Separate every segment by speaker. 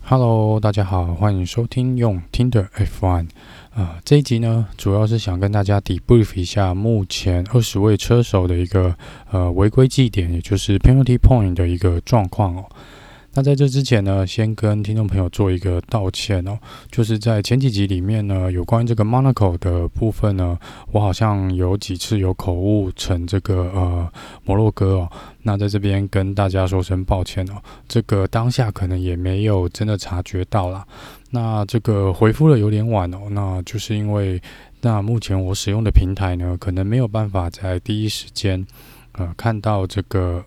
Speaker 1: Hello， 大家好，歡迎收聽用聽的 F1。這一集呢，主要是想跟大家 debrief 一下目前20位車手的一個違規記點，也就是 penalty point 的一個狀況哦。那在這之前呢，先跟聽眾朋友做一個道歉哦，就是在前幾集裡面呢，有關於這個 Monaco 的部分呢，我好像有幾次有口誤成這個摩洛哥哦。那在這邊跟大家說聲抱歉哦，這個當下可能也沒有真的察覺到啦。那這個回復的有點晚哦，那就是因為那目前我使用的平台呢，可能沒有辦法在第一時間看到這個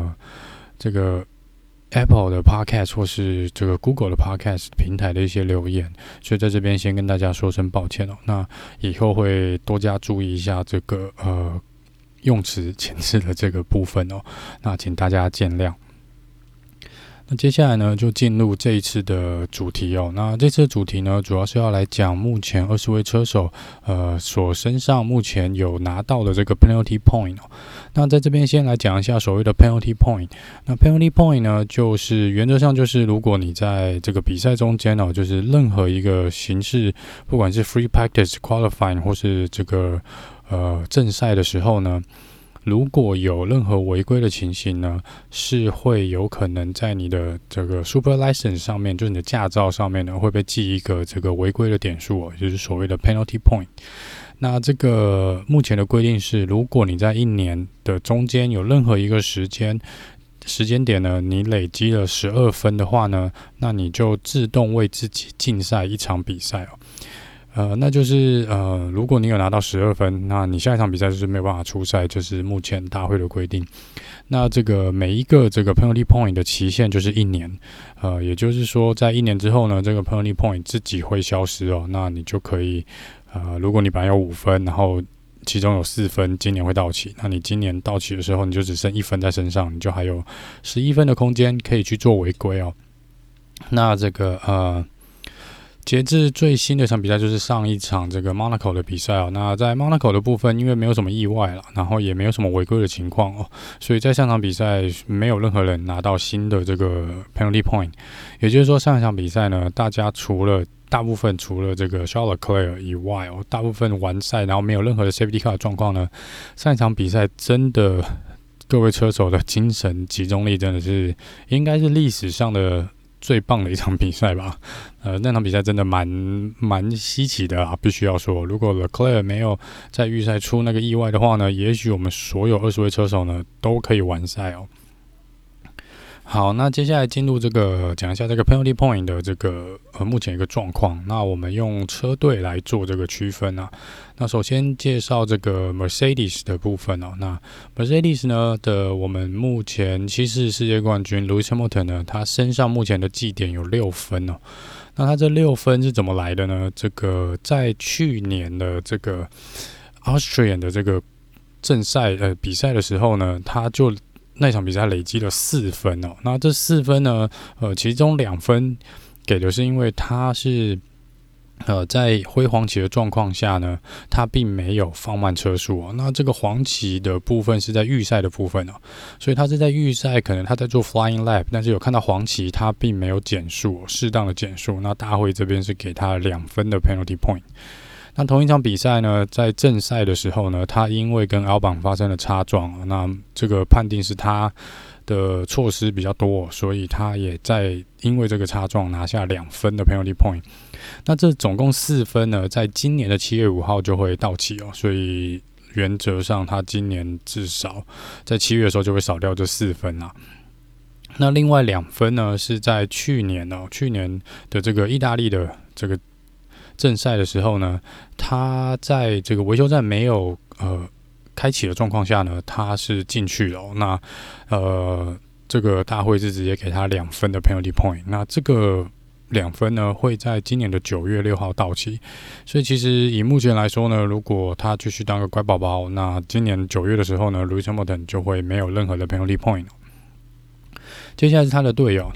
Speaker 1: Apple 的 Podcast 或是這個 Google 的 Podcast 平台的一些留言，所以在這邊先跟大家說聲抱歉哦。那以後會多加注意一下這個用詞遣詞的這個部分哦。那請大家見諒。那接下來呢，就進入這一次的主題哦。那這次的主題呢，主要是要來講目前20位車手所身上目前有拿到的這個 penalty point 哦。那在這邊先來講一下所謂的 penalty point。那 penalty point 呢，就是原則上就是如果你在這個比賽中間哦，就是任何一個形式，不管是 free practice、qualifying 或是這個正賽的時候呢，如果有任何違規的情形呢，是會有可能在你的這個 super license 上面，就是你的駕照上面呢，會被記一個這個違規的點數哦，也就是所謂的 penalty point。那這個目前的規定是，如果你在一年的中間有任何一個時間點呢，你累積了12分的話呢，那你就自動為自己禁賽一場比賽哦。那就是如果你有拿到12分，那你下一場比賽就是沒有辦法出賽，就是目前大會的規定。那這個每一個這個 penalty point 的期限就是1年，也就是說在1年之後呢，這個 penalty point 自己會消失哦。那你就可以如果你本來有5分，然後其中有4分今年會到期，那你今年到期的時候，你就只剩1分在身上，你就還有11分的空間可以去做違規哦。那這個截至最新的一場比賽就是上一場這個 Monaco 的比賽哦。那在 Monaco 的部分，因為沒有什麼意外了，然後也沒有什麼違規的情況哦，所以在上場比賽沒有任何人拿到新的這個 penalty point。也就是說，上一場比賽呢，大部分除了這個 Charles Leclerc 以外哦，大部分完賽然後沒有任何的 safety car 的狀況呢，上一場比賽真的各位車手的精神集中力真的是應該是歷史上的最棒的一場比賽吧。那場比賽真的蠻稀奇的啊，必須要說，如果 Leclerc 沒有在預賽出那個意外的話呢，也許我們所有20位車手呢都可以完賽哦。好，那接下來進入講一下這個 penalty point 的這個目前一個狀況。那我們用車隊來做這個區分啊。那首先介紹這個 Mercedes 的部分哦。那 Mercedes 呢我們目前7次世界冠軍 Lewis Hamilton 呢，他身上目前的記點有6分哦。那他這6分是怎麼來的呢？這個在去年的這個 Austrian 的這個正賽比賽的時候呢，他就那場比賽累積了4分哦。那這4分呢，其中2分給的是因為他是在灰黃旗的狀況下呢，他並沒有放慢車速哦。那這個黃旗的部分是在預賽的部分哦，所以他是在預賽可能他在做 flying lap， 但是有看到黃旗，他並沒有減速，適當的減速。那大會這邊是給他2分的 penalty point。那同一場比賽呢，在正賽的時候呢，他因為跟Albon發生了擦撞，那這個判定是他的措施比較多，所以他也在因為這個擦撞拿下2分的 penalty point。那這總共4分呢，在今年的7月5號就會到期哦，所以原則上他今年至少在7月的時候就會少掉這4分啦。那另外2分呢，是在去年的這個意大利的這個正賽的時候呢，他在這個維修站沒有開啟的狀況下呢，他是進去了哦。那這個大會是直接給他2分的 penalty point。那這個2分呢，會在今年的9月6號到期。所以其實以目前來說呢，如果他繼續當個乖寶寶，那今年9月的時候呢 Lewis Hamilton 就會沒有任何的 penalty point。接下來是他的隊友，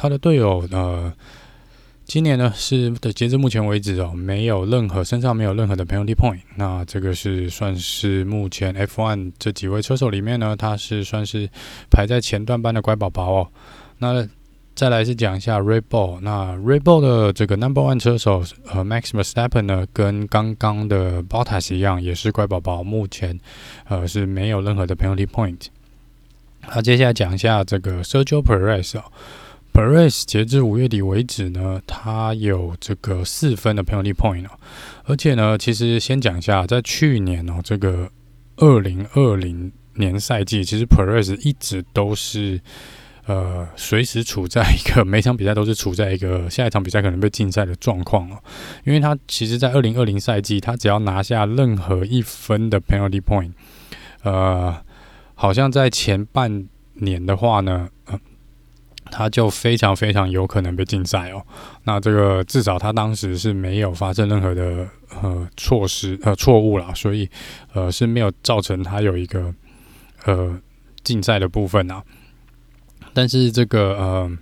Speaker 1: 今年呢截至目前為止哦，身上沒有任何的 penalty point。那這個是算是目前 F1 這幾位車手裡面呢，他是算是排在前段班的乖寶寶哦。那再來是講一下 Red Bull， 那 Red Bull 的這個 No.1 車手Max Verstappen 呢，跟剛剛的 Bottas 一樣，也是乖寶寶，目前是沒有任何的 penalty point。那接下來講一下這個 Sergio Perez。Perez 截至5月底為止呢，他有這個4分的 penalty point 而且呢，其實先講一下，在去年這個2020年賽季，其實 Perez 一直都是隨時處在一個每場比賽都是處在一個下一場比賽可能被禁賽的狀況因為他其實在2020賽季，他只要拿下任何1分的 penalty point， 好像在前半年的話呢，他就非常非常有可能被禁賽那這個至少他當時是沒有發生任何的錯誤啦，所以是沒有造成他有一個禁賽的部分啊。但是這個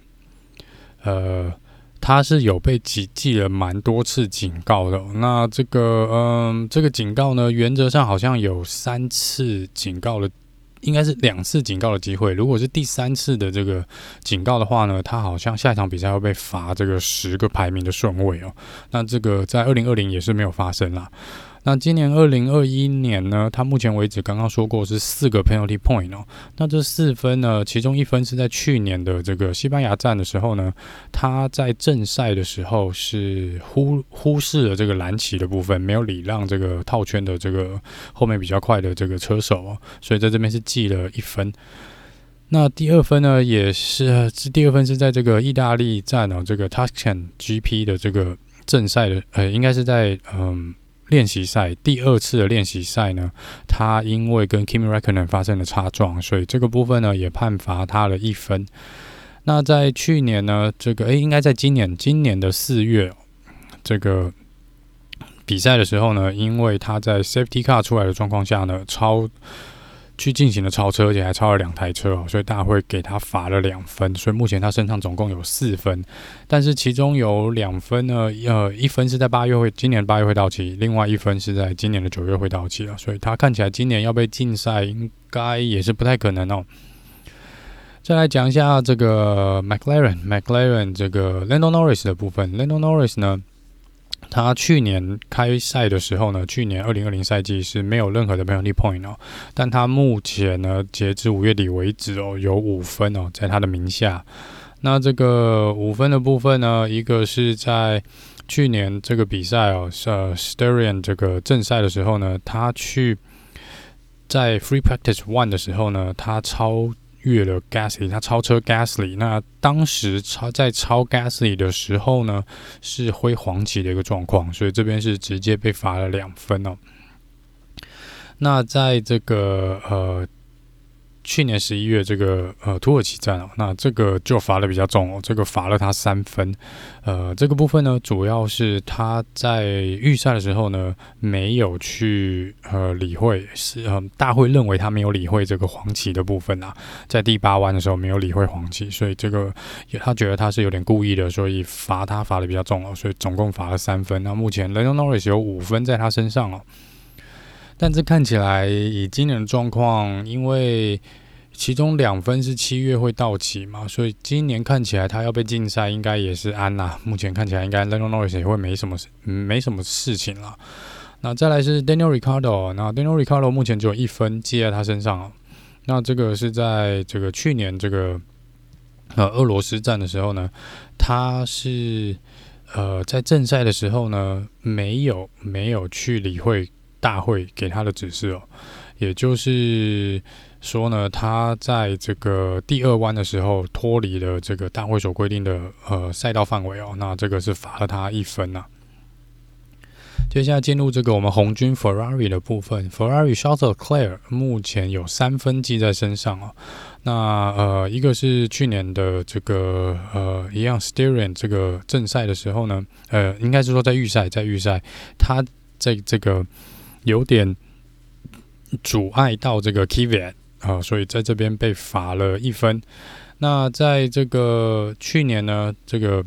Speaker 1: 他是有被記了蠻多次警告的那这個警告呢，原則上好像有3次警告的。應該是2次警告的機會，如果是第3次的這個警告的話呢，他好像下一場比賽會被罰這個10個排名的順位那這個在2020也是沒有發生啦。那今年2021年呢，他目前為止剛剛說過是4個 penalty point那這4分呢，其中1分是在去年的這個西班牙站的時候呢，他在正賽的時候是忽視了這個藍旗的部分，沒有禮讓這個套圈的這個後面比較快的這個車手所以在這邊是記了1分。那第2分呢，也是第2分是在這個意大利站這個 Tuscan GP 的這個正賽的應該是在練習賽第2次的練習賽呢，他因為跟 Kimi Räikkönen 發生了擦撞，所以這個部分呢也判罰他了1分。那在去年呢，這個應該在今年的4月這個比賽的時候呢，因為他在 Safety Car 出來的狀況下呢，去進行了超車，而且還超了2台車所以大會給他罰了2分，所以目前他身上總共有4分，但是其中有2分呢，1分是在今年8月會到期，另外1分是在今年的9月會到期所以他看起來今年要被禁賽應該也是不太可能再來講一下這個 McLaren 這個 Lando Norris 的部分。Lando Norris 呢，他去年開賽的時候呢，去年2020賽季是沒有任何的 penalty point但他目前呢，截至5月底為止有5分在他的名下。那這個5分的部分呢，一個是在去年這個比賽Styrian 這個正賽的時候呢，他在 Free Practice 1的時候呢，他超越了 Gasly， 他超車 Gasly。那當時在超 Gasly 的時候呢，是揮黃旗的一個狀況，所以這邊是直接被罰了2分那在這個去年11月這個土耳其站那這個就罰的比較重這個罰了他3分。這個部分呢，主要是他在預賽的時候呢，沒有去理會，大會認為他沒有理會這個黃旗的部分在第8彎的時候沒有理會黃旗，所以這個他覺得他是有點故意的，所以罰的比較重所以總共罰了3分。那目前 Lando Norris 有5分在他身上但這看起來以今年的狀況，因為其中2分是7月會到期嘛，所以今年看起來他要被禁賽應該也是安啦。目前看起來應該 Lando Norris 也會沒什麼事情啦。那再來是 Daniel Ricciardo， 那 Daniel Ricciardo 目前只有1分記在他身上那這個是在這個去年這個俄羅斯站的時候呢，他是在正賽的時候呢，沒有去理會大會給他的指示也就是說呢，他在這個第2彎的時候脫離了這個大會所規定的賽道範圍那這個是罰了他1分接下來進入這個我們紅軍 Ferrari 的部分 ，Ferrari Charles Leclerc 目前有3分記在身上那一個是去年的這個一樣 Styrian 這個正賽的時候呢，應該是說在預賽他在這個有點阻礙到這個 Kvyat所以在這邊被罰了1分。那在這個去年呢，這個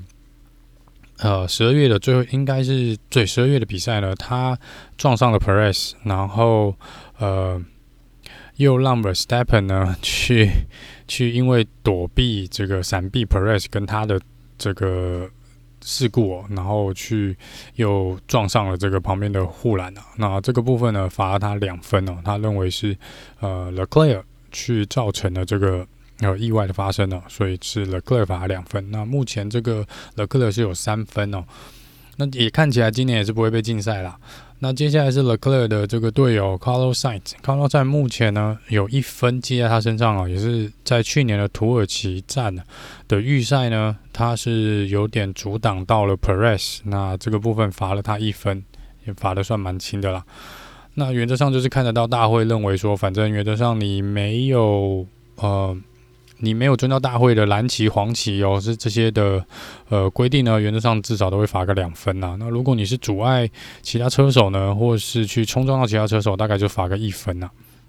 Speaker 1: 12月的最後應該是12月的比賽呢，他撞上了 Perez， 然後又讓 Verstappen 呢去因為躲避這個閃避 Perez 跟他的這個事故然後又撞上了這個旁邊的護欄啊。那這個部分呢罰了他2分他認為是Leclerc 去造成了這個意外的發生所以是 Leclerc 罰2分。那目前這個 Leclerc 是有3分那也看起來今年也是不會被禁賽啦。那接下來是 Leclerc 的這個隊友 Carlos Sainz 目前呢有1分記在他身上也是在去年的土耳其站的預賽呢，他是有點阻擋到了 Perez， 那這個部分罰了他1分，也罰的算蠻輕的啦。那原則上就是看得到大會認為說，反正原則上你沒有遵照大會的藍旗、黃旗是這些的規定呢，原則上至少都會罰個2分那如果你是阻礙其他車手呢，或是去衝撞到其他車手，大概就罰個1分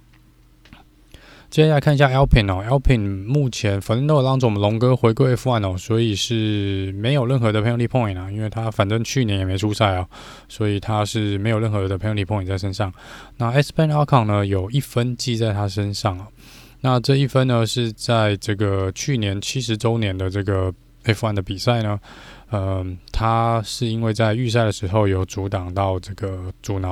Speaker 1: 接下來看一下 Alpine 目前 Fernando Alonso 我們龍哥回歸 F1 所以是沒有任何的 penalty point 因為他反正去年也沒出賽所以他是沒有任何的 penalty point 在身上。那 Esteban Ocon 呢有1分記在他身上那這1分呢是在這個去年70周年的這個 F1 的比賽呢，他是因為在預賽的時候有阻撓到這個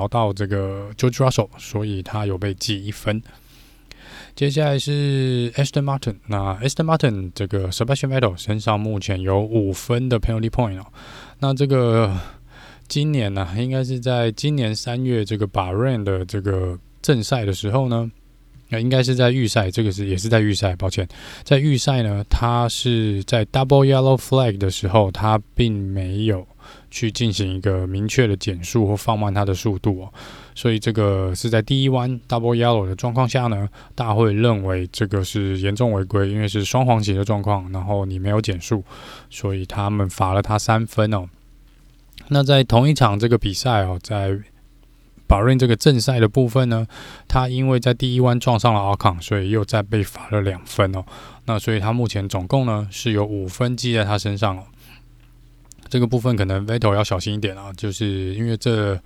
Speaker 1: George Russell， 所以他有被記1分。接下來是 Aston Martin， 那 Aston Martin 這個 Sebastian Vettel 身上目前有5分的 penalty point那這個今年應該是在今年3月這個 Bahrain 的這個正賽的時候呢。應該是在預賽，這個也是在預賽，抱歉，在預賽呢，他是在 Double Yellow Flag 的時候，他並沒有去進行一個明確的減速或放慢他的速度所以這個是在第一彎 Double Yellow 的狀況下呢，大會認為這個是嚴重違規，因為是雙黃旗的狀況，然後你沒有減速，所以他們罰了他3分那在同一場這個比賽在Bahrain 這個正賽的部分呢，他因為在第一彎撞上了 Ocon， 所以又再被罰了2分那所以他目前總共呢是有5分記在他身上這個部分可能 Vettel 要小心一點就是因為這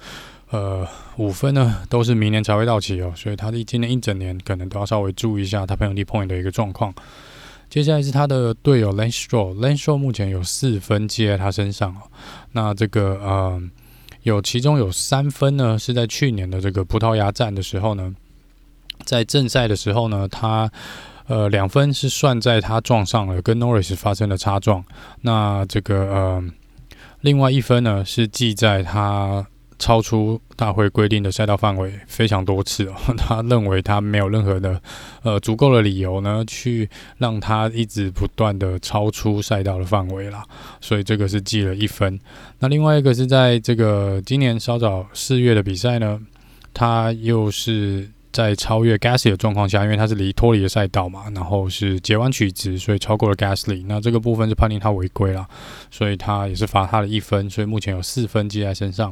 Speaker 1: 5分呢都是明年才會到期所以他今年1整年可能都要稍微注意一下他 penalty point 的一個狀況。接下來是他的隊友 Lance Stroll 目前有4分記在他身上那這個其中有3分呢是在去年的這個葡萄牙站的時候呢，在正賽的时候呢，他2分是算在他撞上了跟 Norris 發生的擦撞，那這個另外1分呢是記在他超出大會規定的賽道範圍非常多次他認為他沒有任何的足夠的理由呢去讓他一直不斷的超出賽道的範圍啦，所以這個是記了1分。那另外一個是在這個今年稍早4月的比賽呢，他又是在超越 Gasly 的狀況下，因為他是脫離了賽道嘛，然後是截彎取直，所以超過了 Gasly， 那這個部分是判定他違規啦，所以他也是罰他的1分，所以目前有4分記在身上。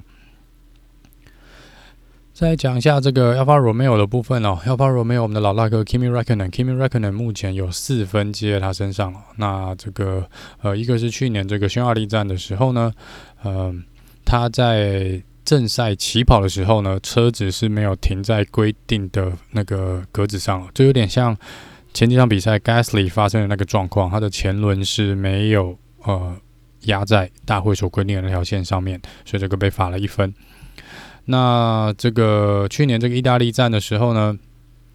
Speaker 1: 再來講一下這個 Alfa Romeo 的部分Alfa Romeo 我們的老大哥 Kimi Räikkönen 目前有4分記在他身上那這個一個是去年這個匈牙利站的時候呢，他在正賽起跑的時候呢，車子是沒有停在規定的那個格子上就有點像前幾場比賽 Gasly 發生的那個狀況，他的前輪是沒有壓在大會所規定的那條線上面，所以這個被罰了1分。那這個去年這個意大利站的時候呢，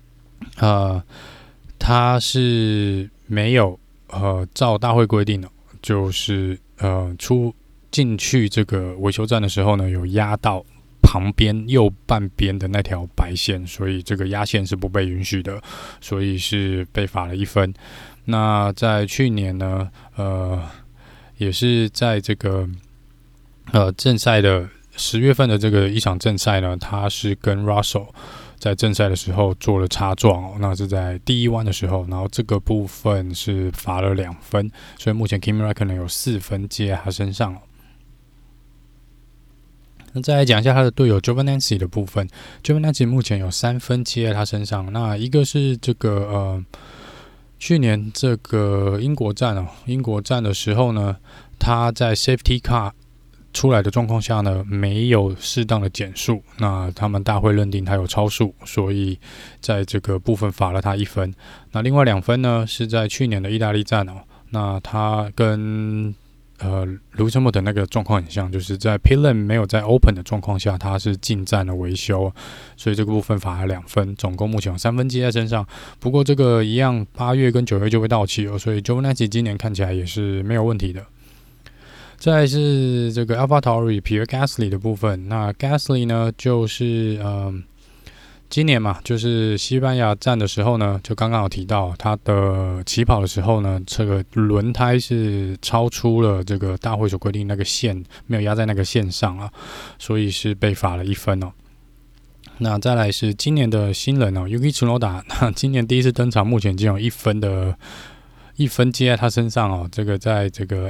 Speaker 1: 他是沒有照大會規定的，就是進去這個維修站的時候呢，有壓到旁邊右半邊的那條白線，所以這個壓線是不被允許的，所以是被罰了1分。那在去年呢，也是在這個正賽的10月份的這個一場正賽呢，他是跟 Russell 在正賽的時候做了擦撞那是在第一彎的时候，然後這個部分是罰了2分，所以目前 Kimi Räikkönen 有4分記在他身上那再來講一下他的隊友 Giovinazzi 的部分 ，Giovinazzi 目前有3分記在他身上，那一個是這個去年這個英國站的時候呢，他在 Safety Car 出來的狀況下呢，沒有適當的減速，那他們大會認定他有超速，所以在這個部分罰了他1分。那另外2分呢，是在去年的意大利站哦，那他跟Lewis Hamilton 那個狀況很像，就是在 Pit Lane 沒有在 Open 的狀況下，他是進站的維修，所以這個部分罰了2分，總共目前有3分記在身上。不過這個一樣，8月跟9月就會到期了，所以 Giovinazzi 今年看起來也是沒有問題的。再來是這個 AlphaTauri Pierre Gasly 的部分，那 Gasly 呢就是今年嘛，就是西班牙站的時候呢，就剛剛有提到他的起跑的時候呢，這個輪胎是超出了這個大會所規定那個線，沒有壓在那個線上啊，所以是被罰了1分哦。那再來是今年的新人哦 ，Yuki Tsunoda， 那今年第一次登場，目前已經有1分記在他身上哦，這個在這個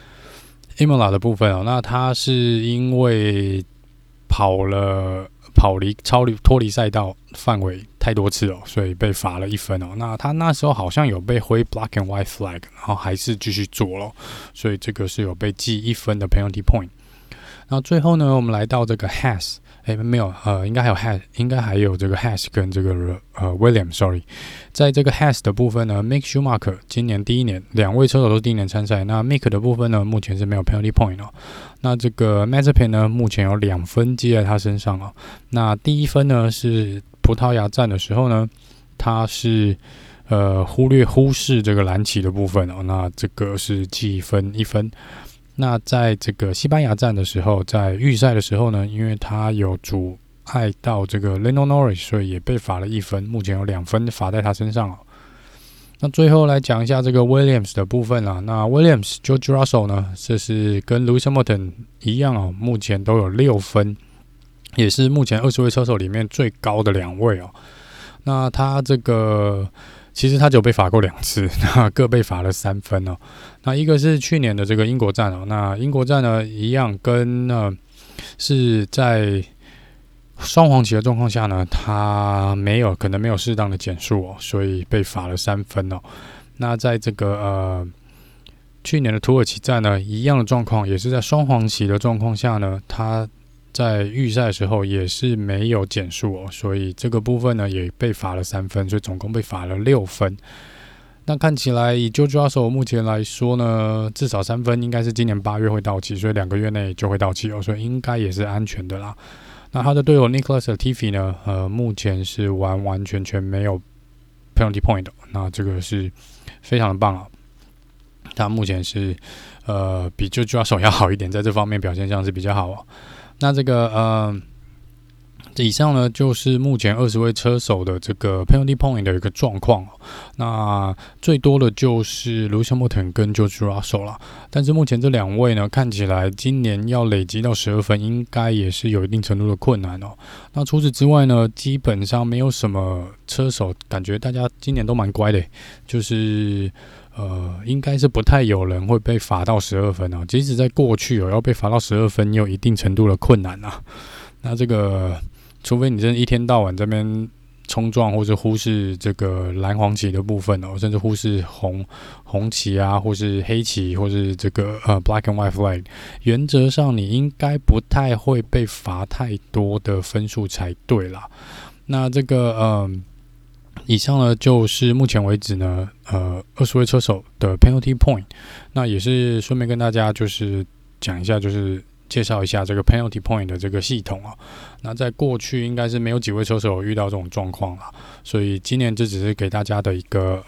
Speaker 1: Imola 的部分哦，那他是因為脫離賽道範圍太多次哦，所以被罰了1分哦。那他那時候好像有被揮 black and white flag， 然後還是繼續做了，所以這個是有被記1分的 penalty point。那最後呢，我們來到這個 Haas， 沒有，應該還有這個 Haas 跟這個Williams，sorry， 在這個 Haas 的部分呢 ，Mick Schumacher 今年第1年，2位車手都是第1年參賽。那 Mick 的部分呢，目前是沒有 penalty point 哦。那這個 Mazepin 呢，目前有2分記在他身上哦。那第1分呢是葡萄牙站的時候呢，他是忽視這個藍旗的部分哦。那這個是記1分。那在這個西班牙站的時候，在預賽的時候呢，因為他有阻礙到這個 Lando Norris， 所以也被罰了1分，目前有2分罰在他身上哦。那最後來講一下這個 Williams 的部分啦。那 Williams、George Russell 呢，這是跟 Lewis Hamilton 一樣哦，目前都有6分，也是目前20位車手裡面最高的2位哦。那他這個其實他只有被罰過2次，那各被罰了3分哦。那一個是去年的這個英國站哦，那英國站呢一樣跟是在雙黃旗的狀況下呢，他可能沒有適當的減速哦，所以被罰了3分哦。那在這個去年的土耳其站呢，一樣的狀況，也是在雙黃旗的狀況下呢，他在預賽的時候也是沒有減速哦，所以這個部分呢也被罰了3分，所以總共被罰了6分。那看起來以 George Russell 目前來說呢，至少3分應該是今年8月會到期，所以2個月內就會到期哦，所以應該也是安全的啦。那他的隊友 Nicholas Latifi 呢，目前是完全沒有 penalty point 的，那這個是非常的棒啊。他目前是比 George Russell 要好一點，在這方面表現上是比較好哦。那這個以上呢就是目前20位車手的這個 penalty point 的一個狀況。那最多的就是 Lewis Hamilton 跟 George Russell 啦，但是目前這2位呢，看起來今年要累積到12分，應該也是有一定程度的困難哦。那除此之外呢，基本上沒有什麼車手，感覺大家今年都蠻乖的，就是應該是不太有人會被罰到12分哦。即使在過去要被罰到12分，也有一定程度的困難啊。那這個除非你真的一天到晚這邊衝撞，或是忽視這個藍黃旗的部分哦，甚至忽視紅旗啊，或是黑旗，或是這個black and white flag， 原則上你應該不太會被罰太多的分數才對啦。那這個以上呢就是目前為止呢20位車手的 penalty point。那也是順便跟大家就是講一下，就是介紹一下這個 penalty point 的這個系統啊。那在過去應該是沒有幾位車手有遇到這種狀況啦，所以今年這只是給大家的一個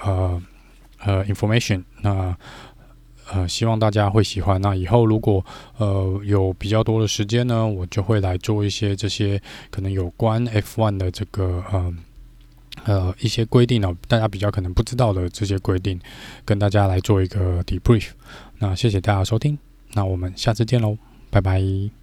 Speaker 1: information。那希望大家會喜歡。那以後如果有比較多的時間呢，我就會來做一些這些可能有關 F1 的這個一些規定哦，大家比較可能不知道的這些規定，跟大家來做一個 debrief。那謝謝大家的收聽，那我們下次見嘍，拜拜。